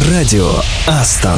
Радио Астон.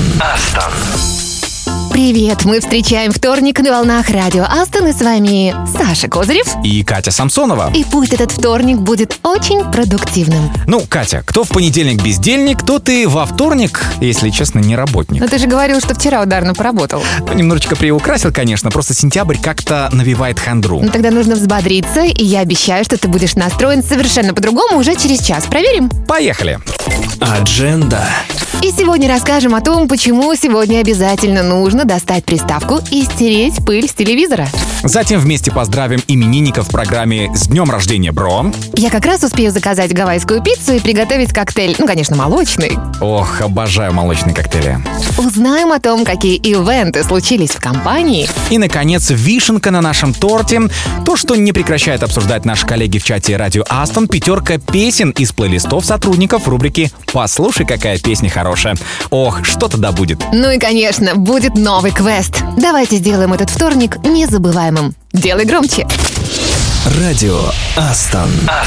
Привет, мы встречаем вторник на волнах Радио Астон, и с вами Саша Козырев и Катя Самсонова. И пусть этот вторник будет очень продуктивным. Ну, Катя, кто в понедельник бездельник, тот и во вторник, если честно, не работник. Но ты же говорил, что вчера ударно поработал. Немножечко приукрасил, конечно, просто сентябрь как-то навевает хандру. Ну тогда нужно взбодриться, и я обещаю, что ты будешь настроен совершенно по-другому уже через час. Проверим? Поехали. Адженда. И сегодня расскажем о том, почему сегодня обязательно нужно достать приставку и стереть пыль с телевизора. Затем вместе поздравим именинников в программе «С днем рождения, бро». Я как раз успею заказать гавайскую пиццу и приготовить коктейль, конечно, молочный. Ох, обожаю молочные коктейли. Узнаем о том, какие ивенты случились в компании. И, наконец, вишенка на нашем торте. То, что не прекращают обсуждать наши коллеги в чате Радио Астон, 5 песен из плейлистов сотрудников рубрики «Послушай, какая песня хорошая». Ох, что тогда будет? Ну и, конечно, будет новый квест. Давайте сделаем этот вторник незабываемым. Делай громче. Радио Астон.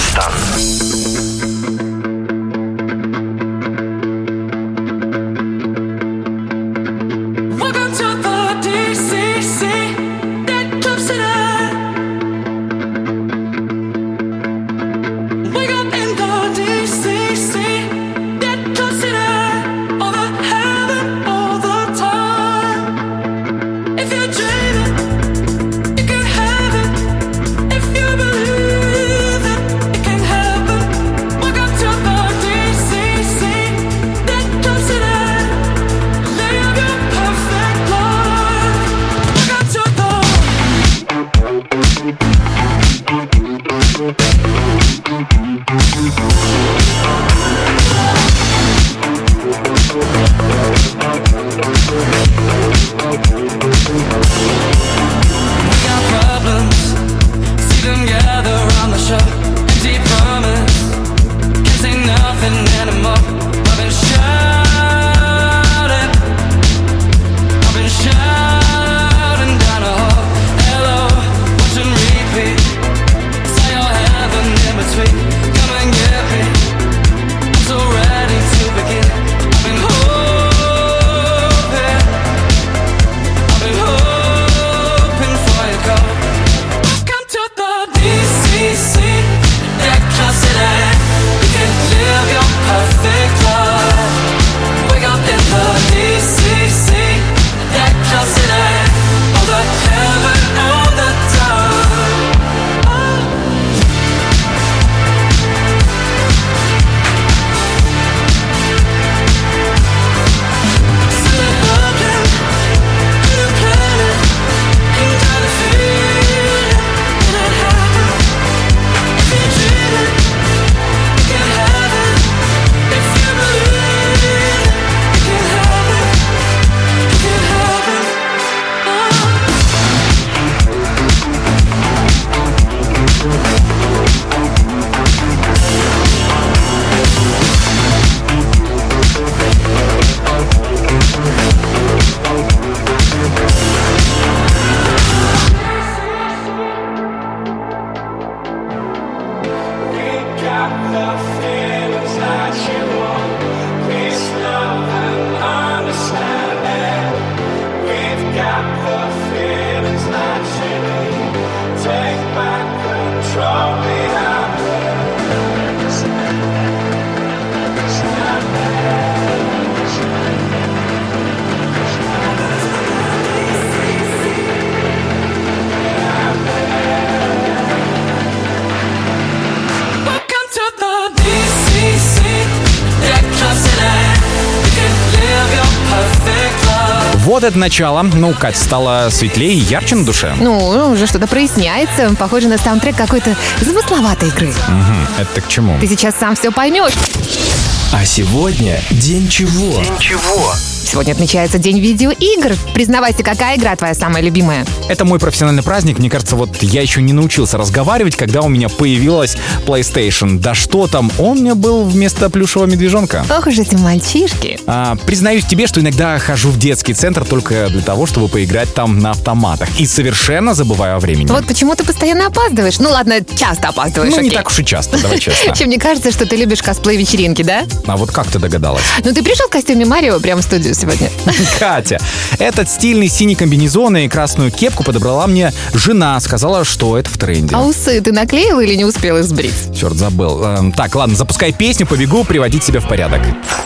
Вот это начало. Ну, Кать, стало светлее и ярче на душе. Ну, уже что-то проясняется. Похоже на саундтрек какой-то замысловатой игры. Угу, это к чему? Ты сейчас сам все поймешь. А сегодня день чего? Сегодня отмечается День видеоигр. Признавайся, какая игра твоя самая любимая? Это мой профессиональный праздник. Мне кажется, вот я еще не научился разговаривать, когда у меня появилась PlayStation. Да что там, он у меня был вместо плюшевого медвежонка. Ох уж эти мальчишки. Признаюсь тебе, что иногда хожу в детский центр только для того, чтобы поиграть там на автоматах. И совершенно забываю о времени. Вот почему ты постоянно опаздываешь? Ну ладно, часто опаздываешь, Ну, не окей. так уж и часто, давай честно. Вообще, мне кажется, что ты любишь косплей-вечеринки, да? А вот как ты догадалась? Ну, ты пришел в костюме Марио прямо в студию сегодня. Катя, этот стильный синий комбинезон и красную кепку подобрала мне жена. Сказала, что это в тренде. А усы ты наклеил или не успел их сбрить? Черт, забыл. Так, ладно, запускай песню, побегу приводить себя в порядок.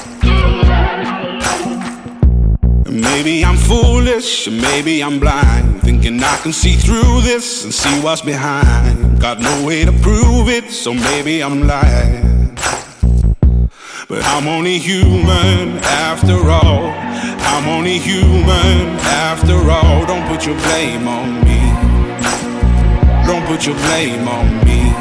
Maybe I'm foolish, maybe I'm blind, thinking I can see through this and see what's behind. Got no way to prove it, so maybe I'm lying. But I'm only human after all. I'm only human after all. Don't put your blame on me. Don't put your blame on me.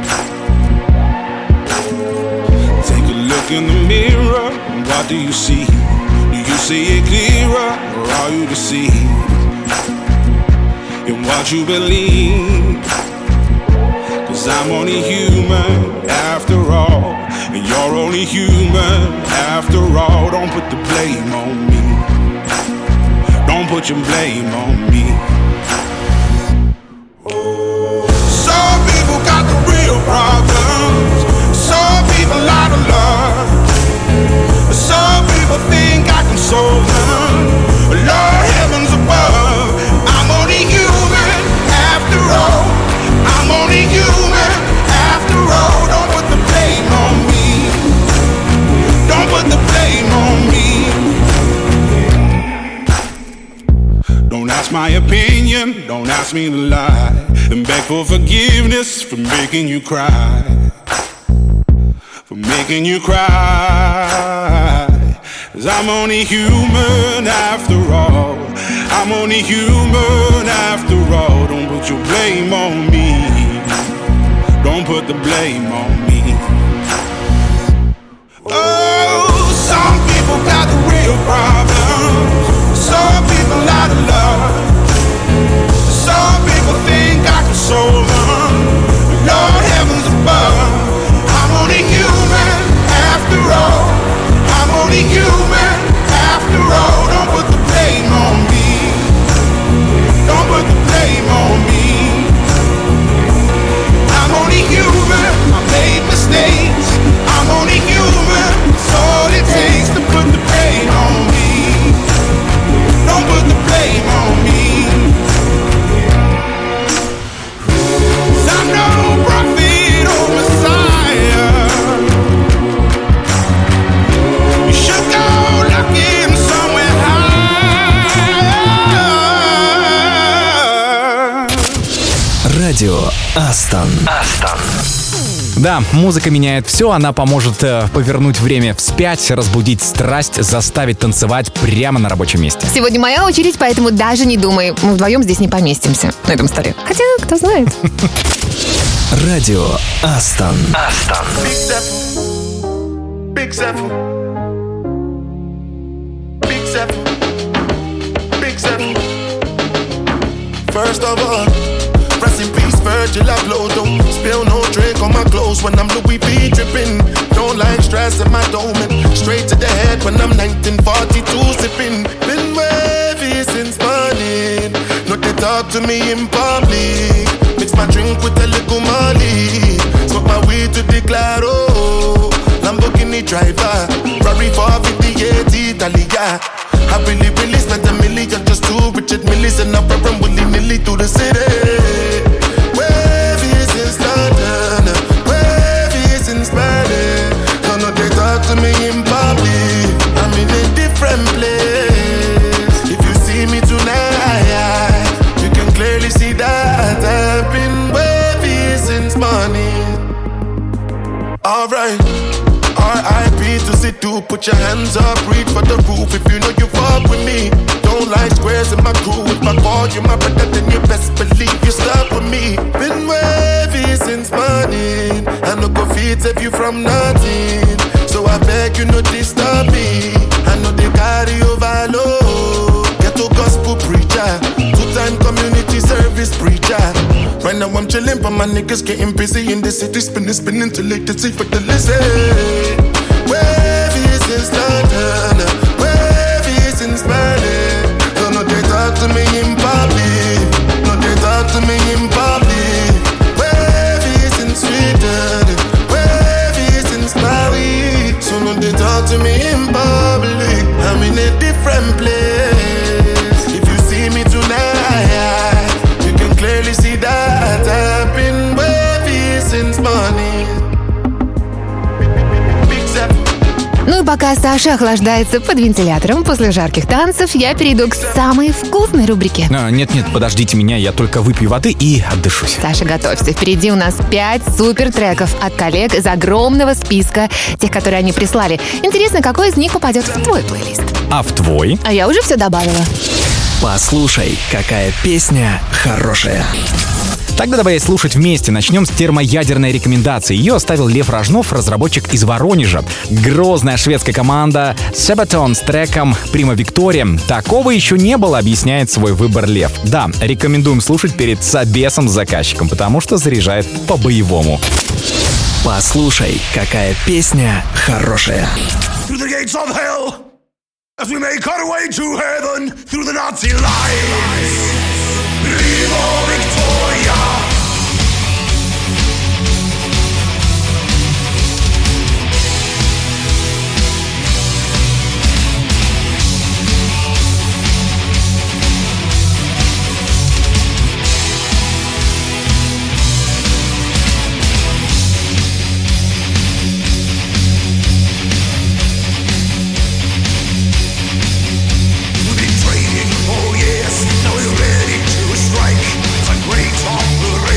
Take a look in the mirror, what do you see? Do you see it clearer, or are you deceived in what you believe? 'Cause I'm only human after all, and you're only human after all. Don't put the blame on me. Don't put your blame on me. Some people got the real problems. Some people out of love. Some people think I can solve them. Lord, heavens above, I'm only human after all. I'm only human after all. Don't put the blame on me. Don't put the blame on me. Don't ask my opinion, don't ask me to lie, and beg for forgiveness for making you cry. For making you cry. 'Cause I'm only human after all. I'm only human after all. Don't put your blame on me. Don't put the blame on me. Oh, some people got the real problems. Some people out of love. Some people think I can solve them. Lord, heavens above, I'm only human after all. I'm only human after all. Don't put the blame on me. Don't put the blame on me. I'm only human. I made mistakes. I'm only human. It's all it takes to put the blame on me. Don't put the blame on me. 'Cause I'm no prophet or Messiah. You should go looking somewhere higher. Радио Астон. Да, музыка меняет все, она поможет повернуть время вспять, разбудить страсть, заставить танцевать прямо на рабочем месте. Сегодня моя очередь, поэтому даже не думай. Мы вдвоем здесь не поместимся на этом столе. Хотя, кто знает. Радио Астон. Big Zephyr. Big Zephyr. Big Zephyr. First of all, rest in peace, Virgil Abloh. Don't spill no drink on my clothes when I'm Louis V dripping. Don't like stress in my dome. Straight to the head when I'm 1942 sipping. Been wavy since morning. No, they talk to me in public. Mix my drink with a little Molly. Smoke my weed to the claro. Lamborghini driver, Ferrari 458 Italia. I really spent $1 million just to Richard Millie. And I'm rapping willy-nilly through the city. Wavy since London, wavy since Berlin. Don't know they talk to me in public. I'm in a different place. If you see me tonight, you can clearly see that I've been wavy since morning. Alright, R.I.P. to Sidhu, put your hands up, reach for the roof if you know you fuck with me. Don't like squares in my crew, if I call you my brother then you best believe you stuck with me. Been wavy since morning, I no go feed save you from nothing. So I beg you no disturb me, I know they carry over service preacher. Right now I'm chilling, but my niggas getting busy in the city, spinning till late to see for the lizard. Wavy since London, wavy since Berlin. So no they talk to me in public, no they talk to me in public. Wavy since Sweden, wavy since Paris. So no they talk to me in public. I'm in a different place. If you see me tonight, you can clearly see that I've been wavy since morning. Ну и пока Саша охлаждается под вентилятором после жарких танцев, я перейду к самой вкусной рубрике. Нет, подождите меня, я только выпью воды и отдышусь. Саша, готовься. Впереди у нас 5 супер треков от коллег из огромного списка тех, которые они прислали. Интересно, какой из них попадет в твой плейлист? А в твой? А я уже все добавила. Послушай, какая песня хорошая. Тогда давай слушать вместе. Начнем с термоядерной рекомендации. Ее оставил Лев Рожнов, разработчик из Воронежа. Грозная шведская команда Sabaton с треком «Prima Victoria». Такого еще не было, объясняет свой выбор Лев. Да, рекомендуем слушать перед собесом с заказчиком, потому что заряжает по-боевому. Послушай, какая песня хорошая. As we make our way to heaven through the Nazi lines, Prima Victoria. Now we're ready to strike. It's a great operation.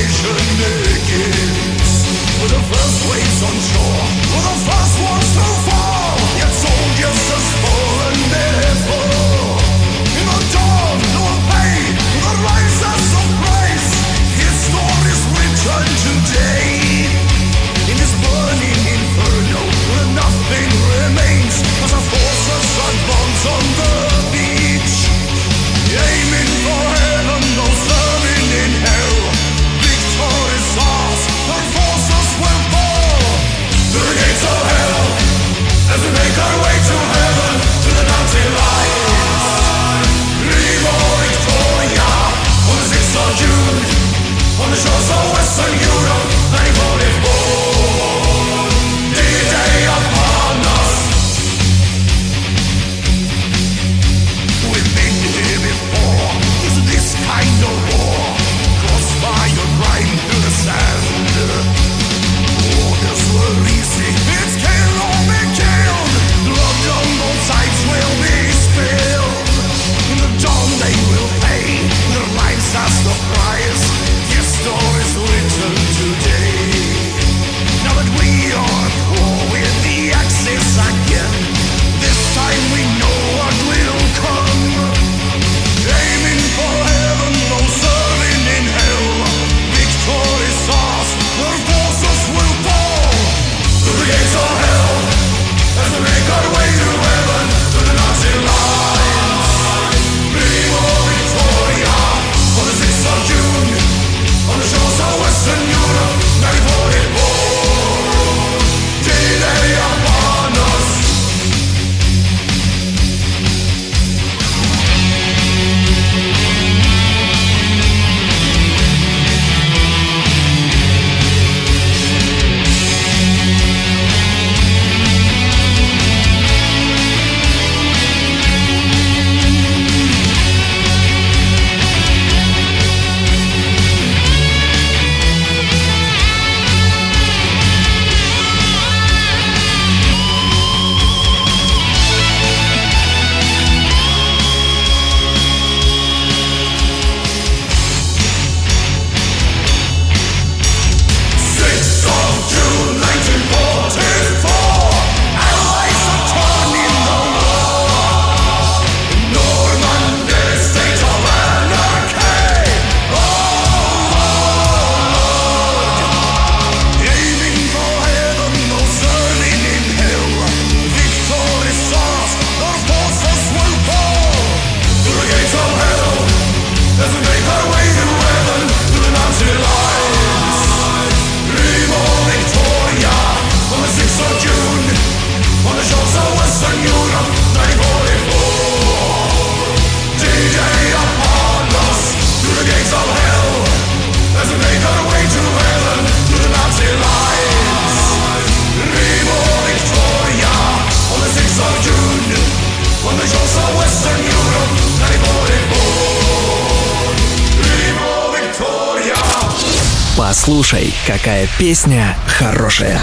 Послушай, какая песня хорошая.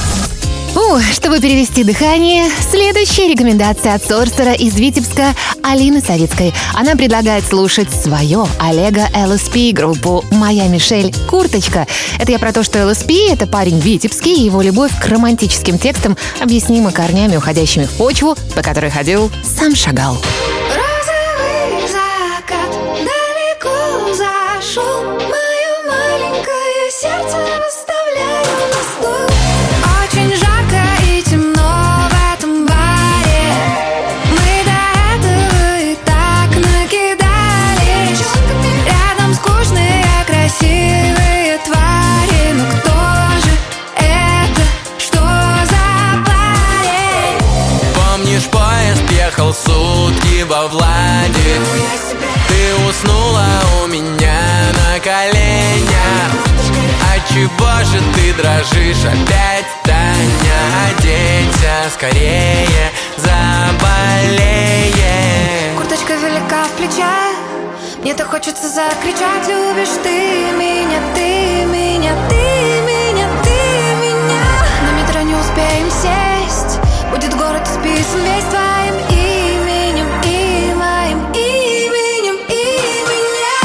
Чтобы перевести дыхание, следующая рекомендация от сорсера из Витебска Алины Савицкой. Она предлагает слушать свое Олега ЛСП, группу «Моя Мишель. Курточка». Это я про то, что ЛСП — это парень витебский, и его любовь к романтическим текстам объяснима корнями, уходящими в почву, по которой ходил сам Шагал. Розовый закат далеко зашел, мое маленькое сердце выставляю на стол. Очень жарко и темно в этом баре, мы до этого и так накидались. Рядом скучные, красивые твари, но кто же это, что за парень? Помнишь, поезд ехал сутки во Владик? Ты уснула у меня на коленях. Отчего же ты дрожишь опять, Таня? Оденься скорее, заболеешь. Курточка велика в плечах, мне-то хочется закричать: любишь ты меня, ты меня, ты меня, ты меня. На метро не успеем сесть, будет город исписан весь твоим именем и моим именем и меня.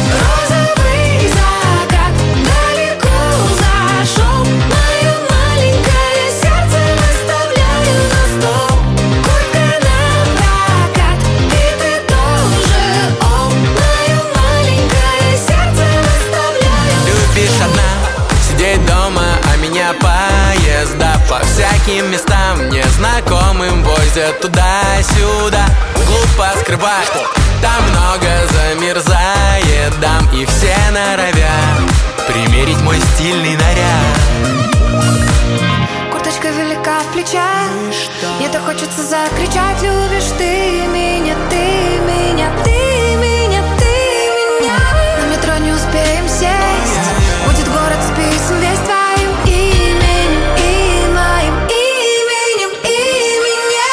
Розовый закат далеко зашел, мое маленькое сердце выставляю на стол. Куртка напрокат, и ты тоже, о, мое маленькое сердце выставляю. Любишь одна сидеть дома, а меня поезда по всяким местам незнакомым возят туда-сюда. Глупо скрывать, там много замерзает дам, и все норовят примерить мой стильный наряд. Курточка велика в плечах, мне-то хочется закричать: любишь ты меня, ты меня, ты меня, ты меня. На метро не успеем сесть, будет город списан весь твоим именем и моим именем и меня.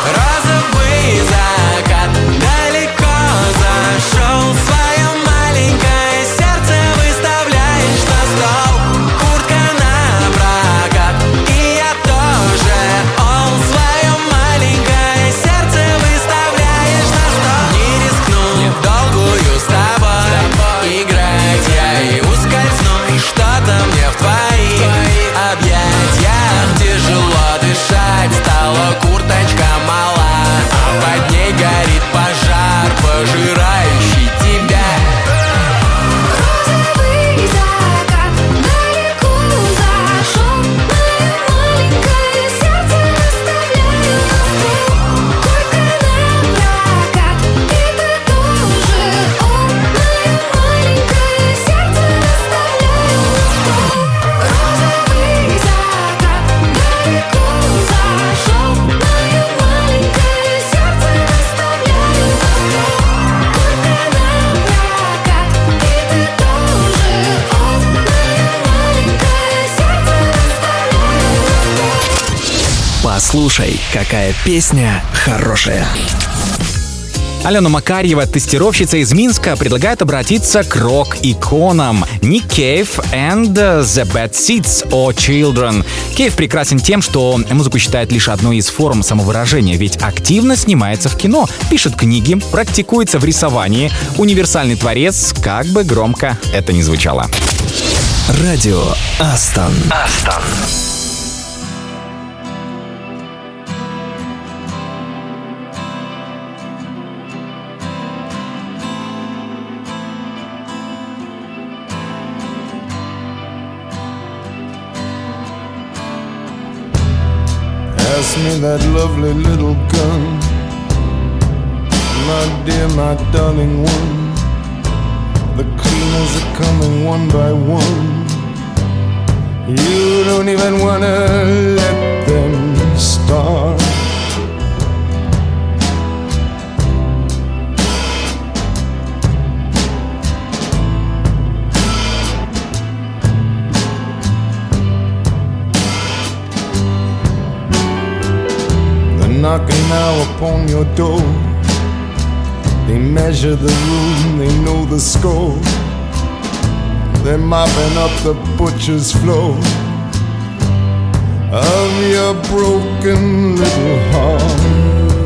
Розовый закат далеко зашел, свое маленькое сердце выставляешь на стол. Куртка напрокат, и я тоже, ол, свое маленькое сердце выставляешь на стол. Не рискну в долгую с тобой играть, я и ускользну, что-то мне в твоих объятиях тяжело дышать. Стала курточка мала, а под ней горит пожар, пожирающий тебя. Розовый закат далеко зашел, мое маленькое сердце выставляю на стол. Куртка напрокат, и ты тоже, о, мое маленькое сердце выставляю на стол. Розовый закат далеко зашел, мое маленькое сердце выставляю на стол. Куртка напрокат, и ты тоже, о, мое маленькое сердце выставляю на стол. Послушай, какая песня хорошая. Алена Макарьева, тестировщица из Минска, предлагает обратиться к рок-иконам Nick Cave and The Bad Seeds о Children. Кейв прекрасен тем, что музыку считает лишь одной из форм самовыражения, ведь активно снимается в кино, пишет книги, практикуется в рисовании. Универсальный творец, как бы громко это ни звучало. Радио Астон. Pass me that lovely little gun, my dear, my darling one. The cleaners are coming one by one. You don't even wanna let them start. Knocking now upon your door. They measure the room, they know the score. They're mopping up the butcher's floor of your broken little heart.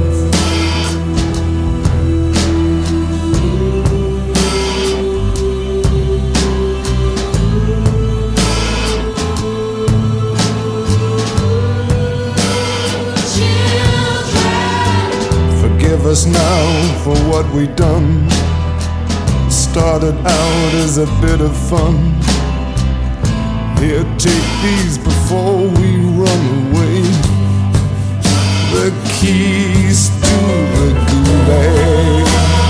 Forgive us now for what we done. Started out as a bit of fun. Here, take these before we run away. The keys to the gulag.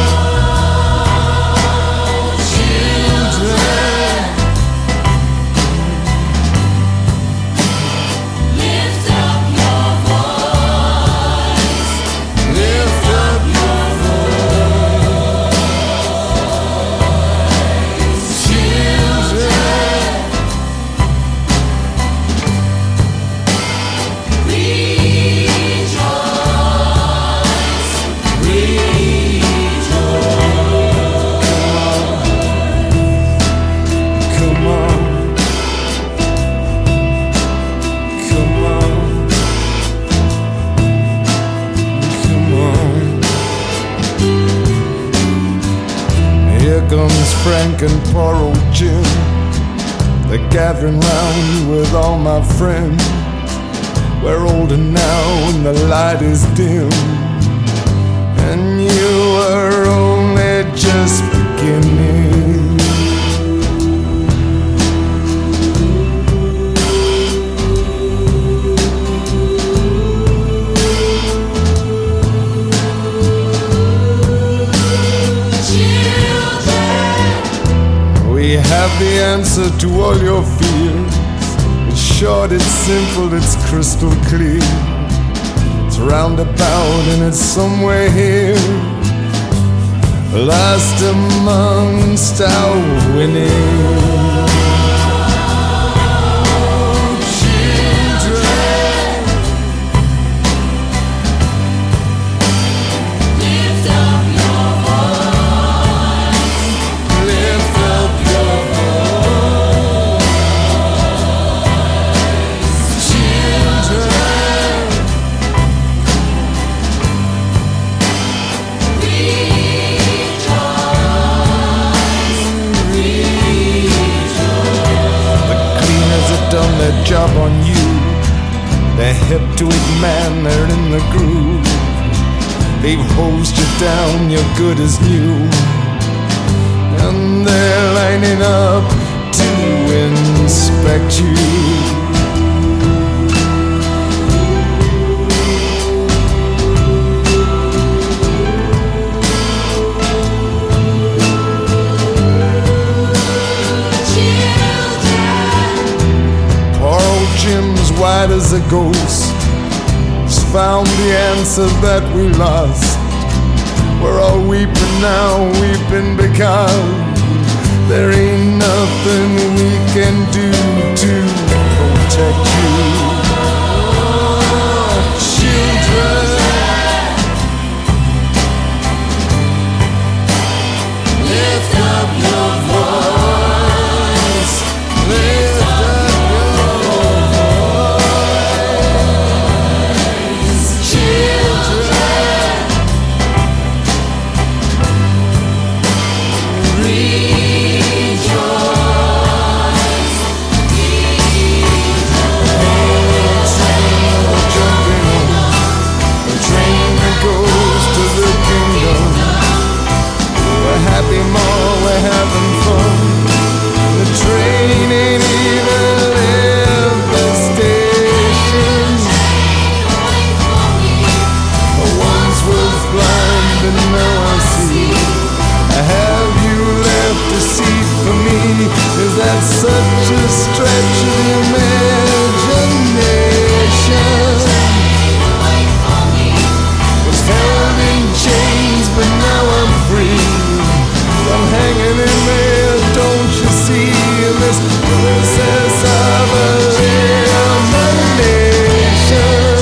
Frank and poor old Jim, they're gathering round with all my friends. We're older now and the light is dim, and you are only just beginning. We have the answer to all your fears. It's short, it's simple, it's crystal clear. It's roundabout and it's somewhere here, lost amongst our winning. Job on you. They're hip to it, man, they're in the groove. They've hosed you down, you're good as new, and they're lining up to inspect you. Jim's white as a ghost, he's found the answer that we lost. We're all weeping now, weeping because there ain't nothing we can do to protect you. Children, lift up your voice, lift up. We're having fun. The train ain't even left the station. I once was blind and now I see. Have you left a seat for me? Is that such a stretch of imagination? Was held in chains but now I'm free. I'm hanging in there, don't you see, this process of elimination.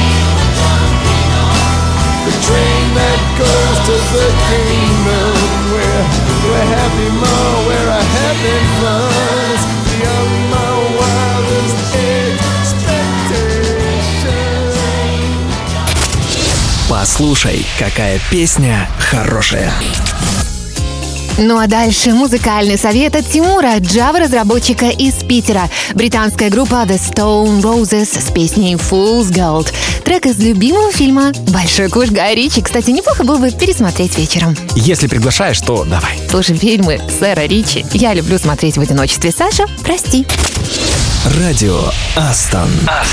The train that goes to the kingdom, where we're happy more, where I having fun. Послушай, какая песня хорошая. Ну а дальше музыкальный совет от Тимура, Java-разработчика из Питера. Британская группа The Stone Roses с песней Fool's Gold. Трек из любимого фильма «Большой куш» Гая Ричи. Кстати, неплохо было бы пересмотреть вечером. Если приглашаешь, то давай. Слушай фильмы сэра Ричи. Я люблю смотреть в одиночестве. Саша, прости. Радио Астон.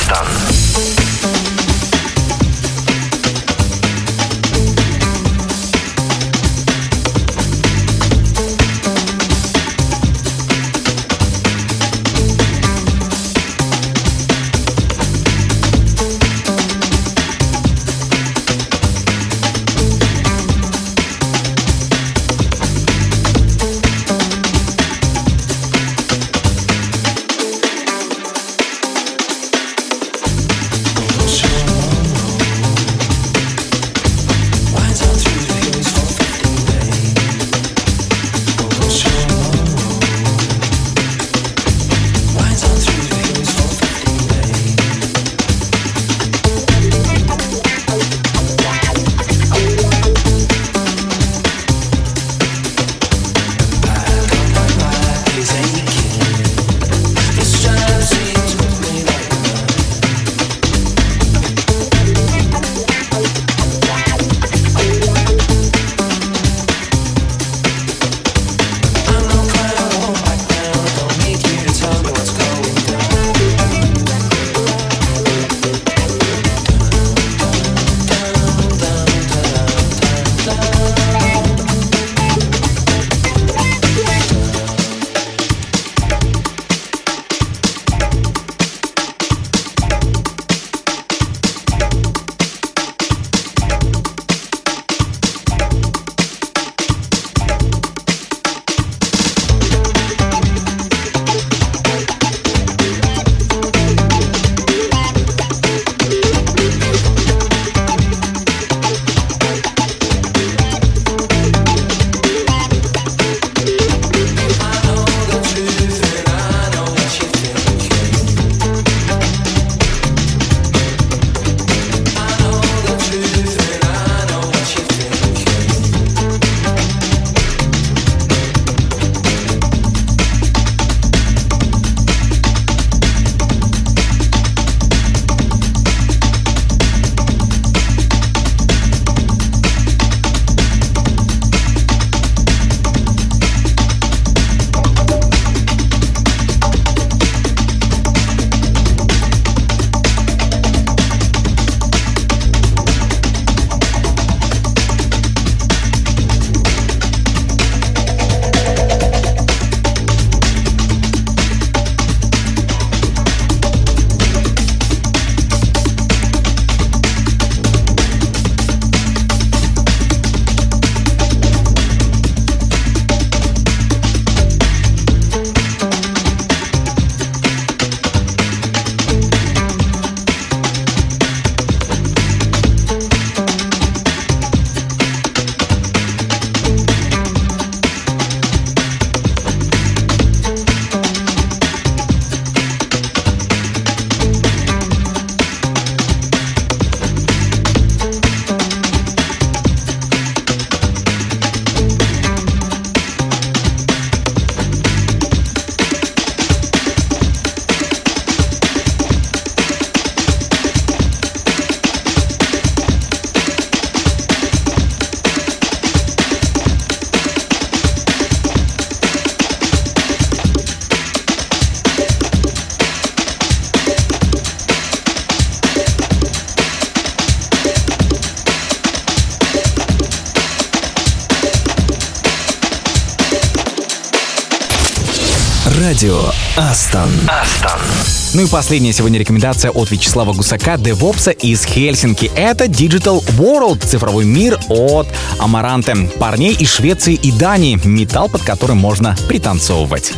Радио Астон. Ну и последняя сегодня рекомендация от Вячеслава Гусака, девопса из Хельсинки. Это Digital World, цифровой мир от Амаранте. Парней из Швеции и Дании. Металл, под которым можно пританцовывать.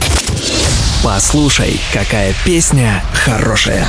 Послушай, какая песня хорошая.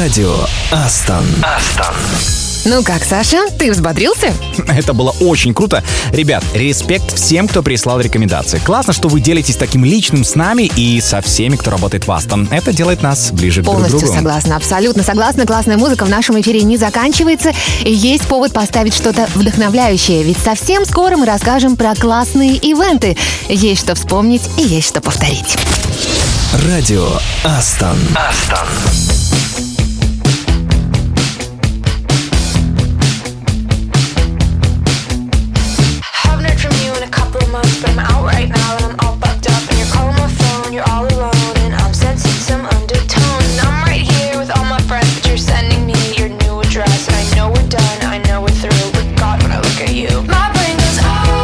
Радио Астон. Ну как, Саша, ты взбодрился? Это было очень круто. Ребят, респект всем, кто прислал рекомендации. Классно, что вы делитесь таким личным с нами и со всеми, кто работает в Астон. Это делает нас ближе друг к другу. Полностью согласна, абсолютно согласна. Классная музыка в нашем эфире не заканчивается. И есть повод поставить что-то вдохновляющее. Ведь совсем скоро мы расскажем про классные ивенты. Есть что вспомнить и есть что повторить. Радио Астон. Haven't heard from you in a couple of months, but I'm out right now and I'm all bugged up. And you're calling my phone, you're all alone, and I'm sensing some undertone. And I'm right here with all my friends, but you're sending me your new address. And I know we're done, I know we're through, but God, when I look at you, my brain goes, oh,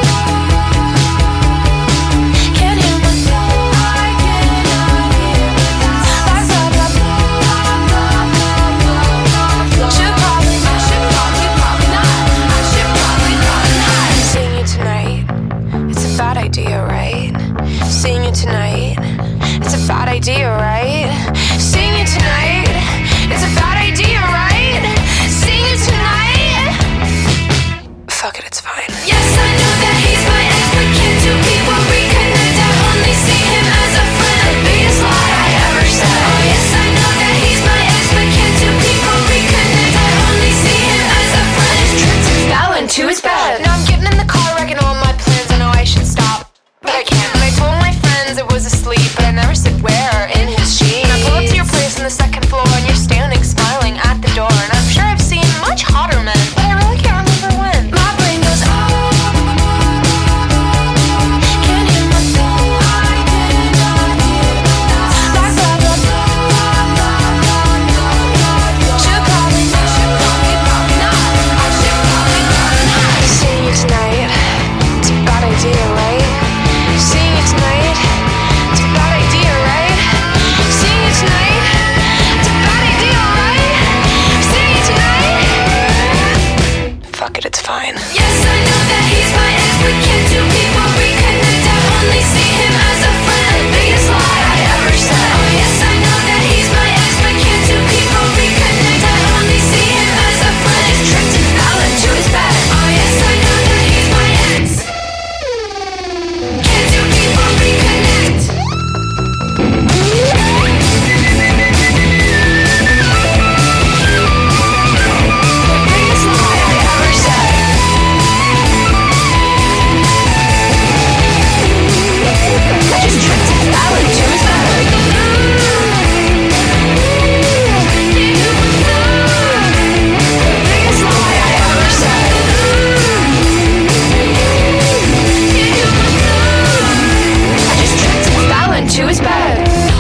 can't hear myself, I cannot hear myself. Blah, blah, blah, blah, blah, blah, blah. Should probably not, I should probably not. Seeing you tonight, it's a bad idea, right? Seeing you tonight, it's a bad idea, right? Seeing you tonight, it's a bad idea, right? Seeing you tonight, fuck it, it's fine. Yes, I know that he's my ex, but can't two people reconnect? I only see him as a friend, the biggest lie I ever said. Oh yes, I know that he's my ex, but can't two people reconnect? I only see him as a friend. His trip to Fallon to his bed. Now I'm getting in the car, wrecking all my plans. I know I should stop, but I can't. And I told my friends it was asleep, but I never said where or in his sheets. And I pull up to your place on the second floor, and you're standing smiling at the door. And I'm sure I've seen much hotter men, but I really can't remember when. My brain goes, oh, can't hear myself, I cannot hear myself. Blah, blah, blah, blah, blah, blah, blah. Should probably not, I should probably not. Seeing you tonight, it's a bad idea, right? Seeing you tonight, it's a bad idea, right? Seeing you tonight, it's a bad idea, right? Seeing you tonight, fuck it, it's fine. Yes, I know that he's my ex, but can't two people reconnect? I only see him as a friend, the biggest lie I ever said. Oh yes, I know that he's my ex, but can't two people reconnect? I only see him as a friend. His trip to Fallon to his bed. Oh yes, I know that he's my ex. Can't two people reconnect? The biggest lie I ever said. I just tripped to Fallon to his bed. The biggest lie I ever said. I just tripped to Fallon to his bed.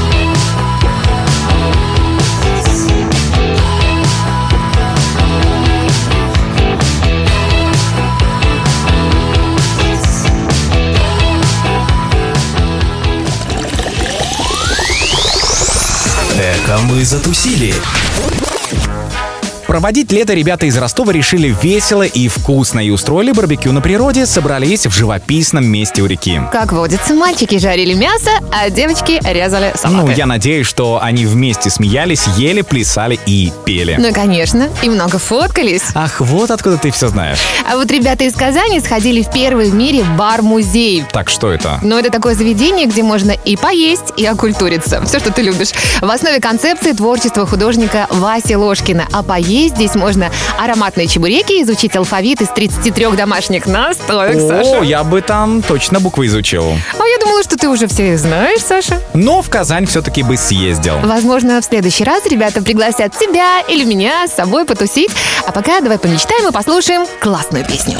Эко мы затусили. Проводить лето ребята из Ростова решили весело и вкусно и устроили барбекю на природе, собрались в живописном месте у реки. Как водится, мальчики жарили мясо, а девочки резали салаты. Ну, я надеюсь, что они вместе смеялись, ели, плясали и пели. Ну, конечно, и много фоткались. Ах, вот откуда ты все знаешь. А вот ребята из Казани сходили в первый в мире бар-музей. Так, что это? Но это такое заведение, где можно и поесть, и окультуриться. Все, что ты любишь. В основе концепции творчества художника Васи Ложкина. А поесть здесь можно ароматные чебуреки, изучить алфавит из 33 домашних настоек, Саша. О, я бы там точно буквы изучил. А я думала, что ты уже все их знаешь, Саша. Но в Казань все-таки бы съездил. Возможно, в следующий раз ребята пригласят тебя или меня с собой потусить. А пока давай помечтаем и послушаем классную песню.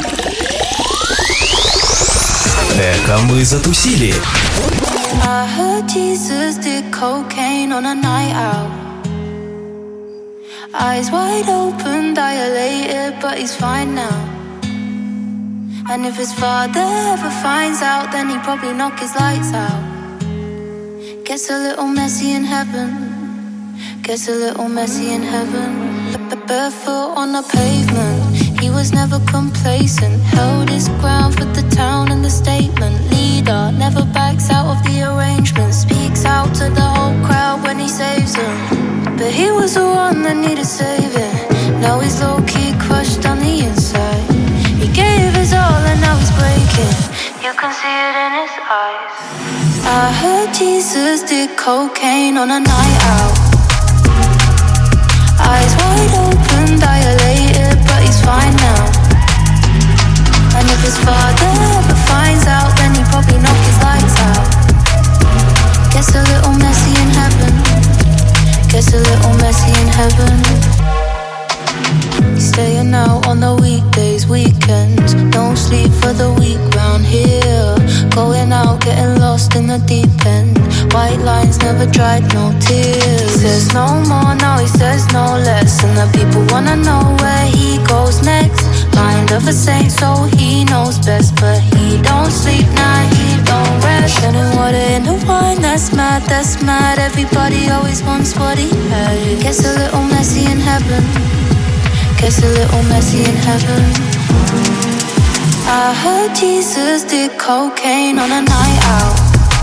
Эко мы затусили. I heard Jesus did cocaine on a night out. Eyes wide open, dilated, but he's fine now. And if his father ever finds out, then he'd probably knock his lights out. Gets a little messy in heaven. Gets a little messy in heaven. Barefoot on the pavement, he was never complacent. Held his ground for the town and the statement. Leader never backs out of the arrangement. Speaks out to the whole crowd when he saves them. But he was the one that needed You can see it in his eyes. I heard Jesus did cocaine on a night out. Eyes wide open, dilated, but he's fine now. And if his father ever finds out, then he probably knock his lights out. Gets a little messy in heaven. Gets a little messy in heaven. Staying out on the weekdays, weekends. No sleep for the week round here. Going out, getting lost in the deep end. White lines never dried, no tears. He says no more, now he says no less. And the people wanna know where he goes next. Mind of a saint, so he knows best. But he don't sleep, nah, he don't rest. Turning water into wine, that's mad, that's mad. Everybody always wants what he had. Gets a little messy in heaven. Gets a little messy in heaven. I heard Jesus did cocaine on a night out.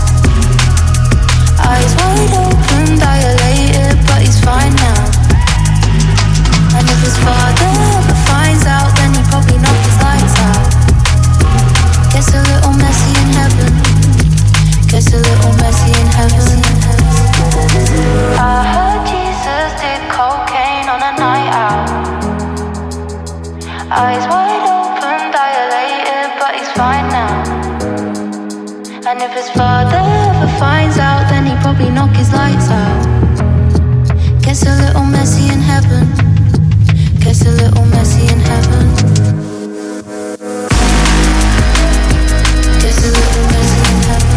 Eyes wide open, dilated, but he's fine now. And if his father ever finds out, then he probably knock his lights out. Gets a little messy in heaven. Gets a little messy in heaven. I heard Jesus did cocaine on a night out. Eyes wide open, dilated, but he's fine now. And if his father ever finds out, then he probably knock his lights out. Gets a little messy in heaven. Gets a little messy in heaven. Gets a little messy in heaven.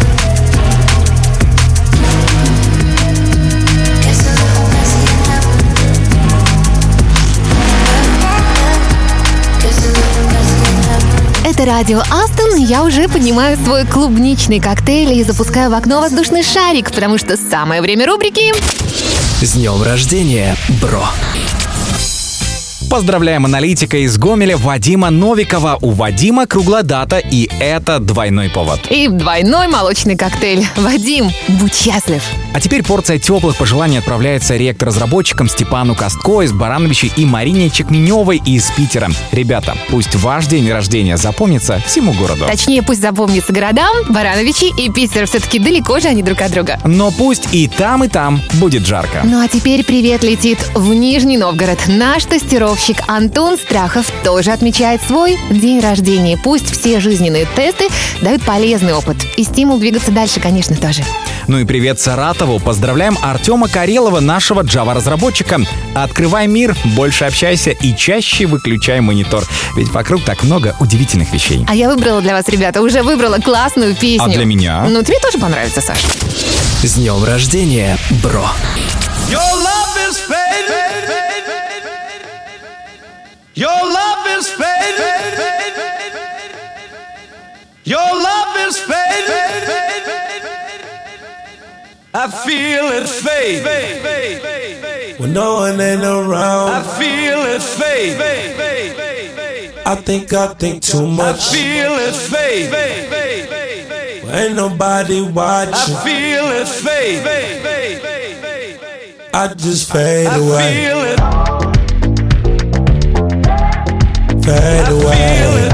Gets a little messy in heaven. Это радио Астон, я уже поднимаю свой клубничный коктейль и запускаю в окно воздушный шарик, потому что самое время рубрики С днем рождения, бро! Поздравляем аналитика из Гомеля Вадима Новикова. У Вадима круглая дата, и это двойной повод. и двойной молочный коктейль. Вадим, будь счастлив! А теперь порция теплых пожеланий отправляется ректор-разработчикам Степану Костко из Барановичей и Марине Чекменевой из Питера. Ребята, пусть ваш день рождения запомнится всему городу. Точнее, пусть запомнится городам, Барановичи и Питер. Все-таки далеко же они друг от друга. Но пусть и там будет жарко. Ну а теперь привет летит в Нижний Новгород. Наш тестировщик Антон Страхов тоже отмечает свой день рождения. Пусть все жизненные тесты дают полезный опыт. И стимул двигаться дальше, конечно, тоже. Ну и привет Саратову. Поздравляем Артема Карелова, нашего Java-разработчика. Открывай мир, больше общайся и чаще выключай монитор. Ведь вокруг так много удивительных вещей. А я выбрала для вас, ребята, уже выбрала классную песню. А для меня? Ну, тебе тоже понравится, Саш. С днем рождения, бро! Your love is fading. Your love is fading. Your love is fading. I feel it fade. When no one ain't around, I feel it fade. I think too I much. feel it fade. Ain't nobody I watching. feel it fade. I just fade I away, feel it. fade I feel away, it.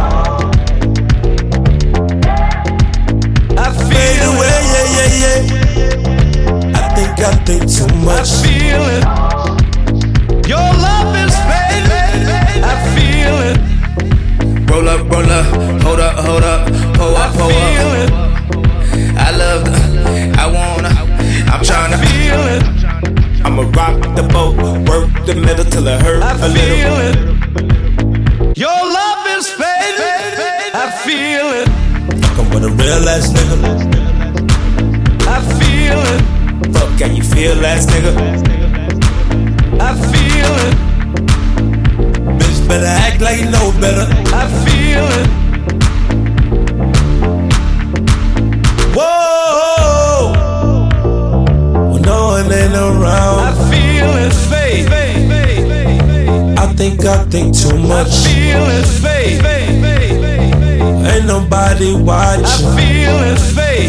I fade feel away. it. Yeah, yeah, yeah. I think too I much. feel it. Your love is fading. I feel it. Roll up, hold up, pull I up, pull feel up. it. I love the, I wanna, I'm tryna Feel it. I'ma rock the boat, work the middle till it hurt I a little. feel it. Your love is fading. I feel it. Fuckin' with a real ass nigga. I feel it. Fuck, can you feel ass nigga? I feel it. Bitch better act like you know better. I feel it. Whoa, when no one ain't I around, feel it fade. I think too I much. feel it fade. Ain't nobody I watching. feel it fade.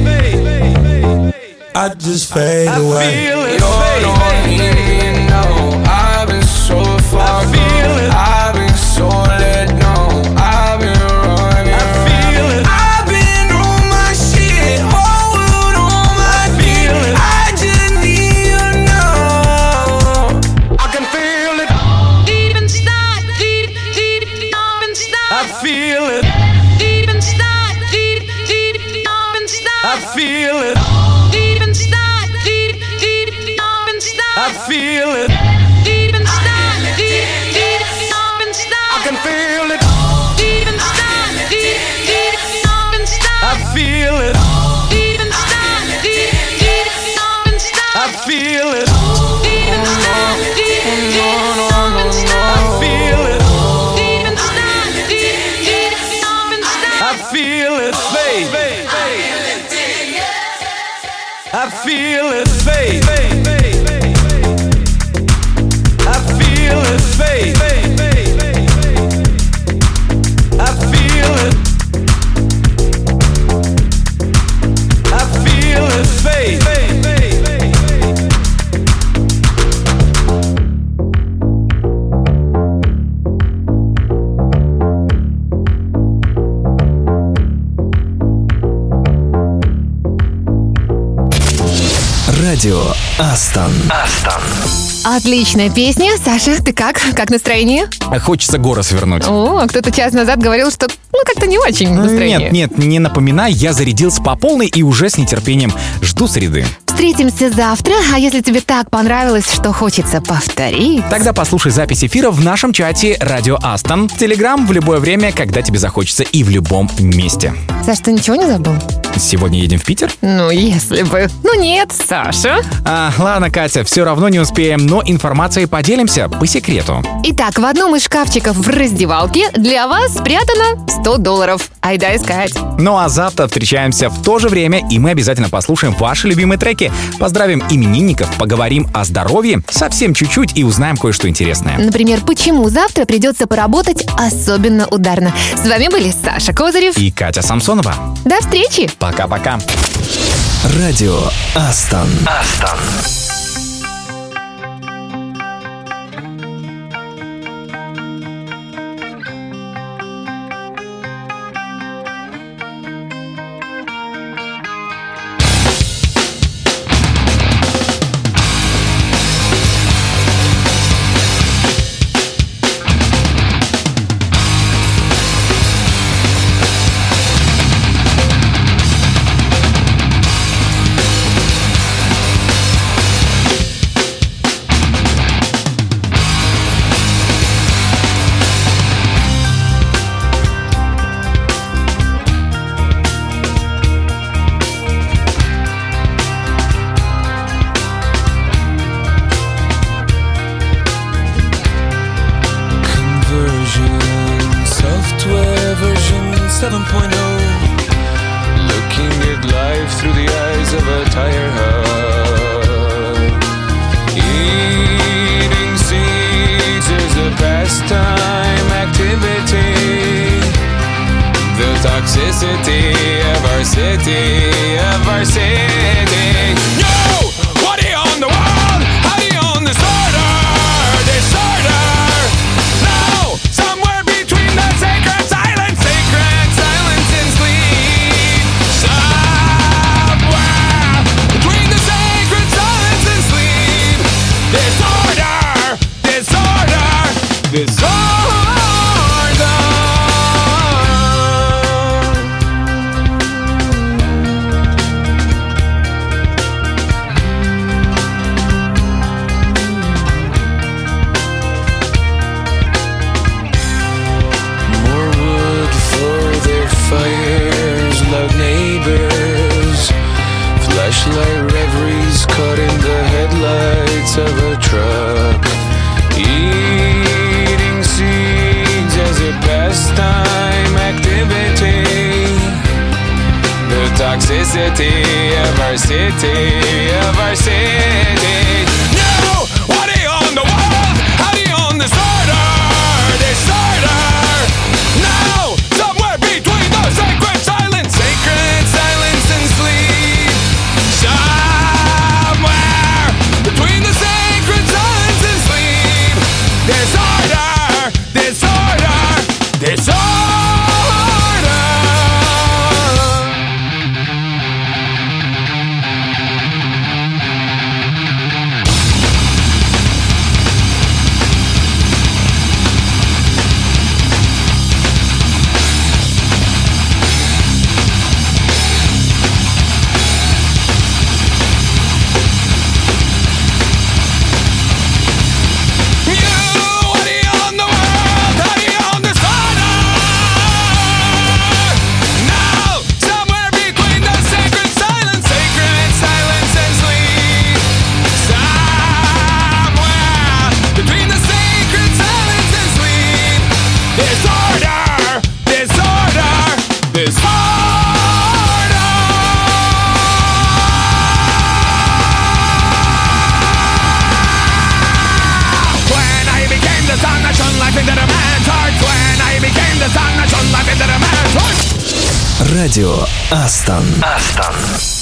I just fade I away. feel it You're the fade. only thing, no. I've been so far I feel gone. it. I've been so let down. I've been running. I feel it. I've been I feel it. Deep inside, deep inside. I feel it. Deep inside, deep inside. I can feel it. Deep inside, deep inside. I feel it. Deep inside, deep inside. I feel it. Deep inside, deep inside. I feel it. Deep inside, deep inside. I feel it, baby. I feel it, babe. I feel it, babe. I feel it. I feel it, babe. Радио Астон. Отличная песня. Саша, ты как? Как настроение? Хочется горы свернуть. О, кто-то час назад говорил, что как-то не очень настроение. Нет, не напоминай, я зарядился по полной и уже с нетерпением жду среды. Встретимся завтра, а если тебе так понравилось, что хочется повторить... Тогда послушай запись эфира в нашем чате «Радио Астон», Телеграм в любое время, когда тебе захочется и в любом месте. Саш, ты ничего не забыл? Сегодня едем в Питер? Ну, если бы. Ну нет, Саша. Ладно, Катя, все равно не успеем, но информацией поделимся по секрету. Итак, в одном из шкафчиков в раздевалке для вас спрятано $100. Айда искать. Ну а завтра встречаемся в то же время, и мы обязательно послушаем ваши любимые треки. Поздравим именинников, поговорим о здоровье, совсем чуть-чуть и узнаем кое-что интересное. Например, почему завтра придется поработать особенно ударно. С вами были Саша Козырев и Катя Самсонова. До встречи! Пока-пока. Радио Астон. life into the man's heart. When I became the sun, I shone life into the man's heart. Радио Астон.